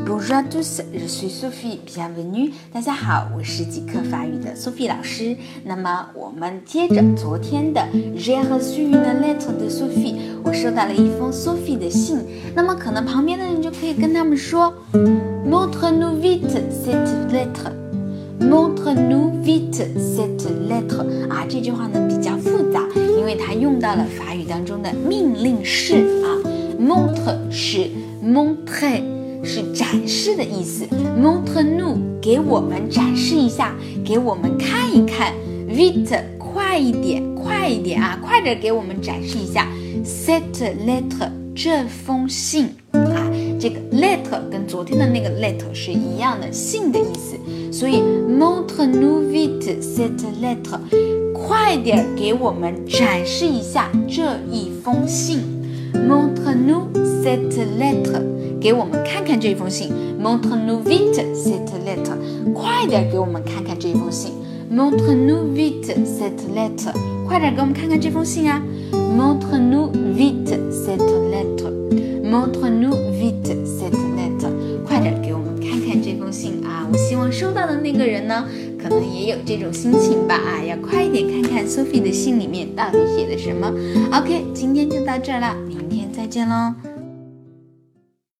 Bonjour à tous, je suis Sophie, bienvenue. 大家好，我是即刻法语的 Sophie 老师。那么我们接着昨天的 J'ai reçu une lettre de Sophie， 我收到了一封 Sophie 的信。那么可能旁边的人就可以跟他们说 Montre-nous vite cette lettre。Montre-nous vite cette lettre 啊，这句话呢比较复杂，因为它用到了法语当中的命令式啊。Montre 是 montrer， 是展示的意思。Montre-nous 给我们展示一下，给我们看一看。Vite 快一点，快一点啊，快点给我们展示一下。Cette lettre 这封信啊，这个 lettre 跟昨天的那个 lettre 是一样的，信的意思。所以 Montre-nous vite cette lettre， 快点给我们展示一下这一封信。Montre-nous cette lettre， 给我们看看这封信。Montre-nous vite cette lettre， 快点给我们看看这封信。Montre-nous vite cette lettre， 快点给我们看看这封信啊。Montre-nous vite cette lettre，Montre-nous vite cette lettre， 快点给我们看看这封信啊！我希望收到的那个人呢，可能也有这种心情吧啊，要快一点看看 Sophie 的信里面到底写了什么。OK， 今天就到这儿了，明天再见喽。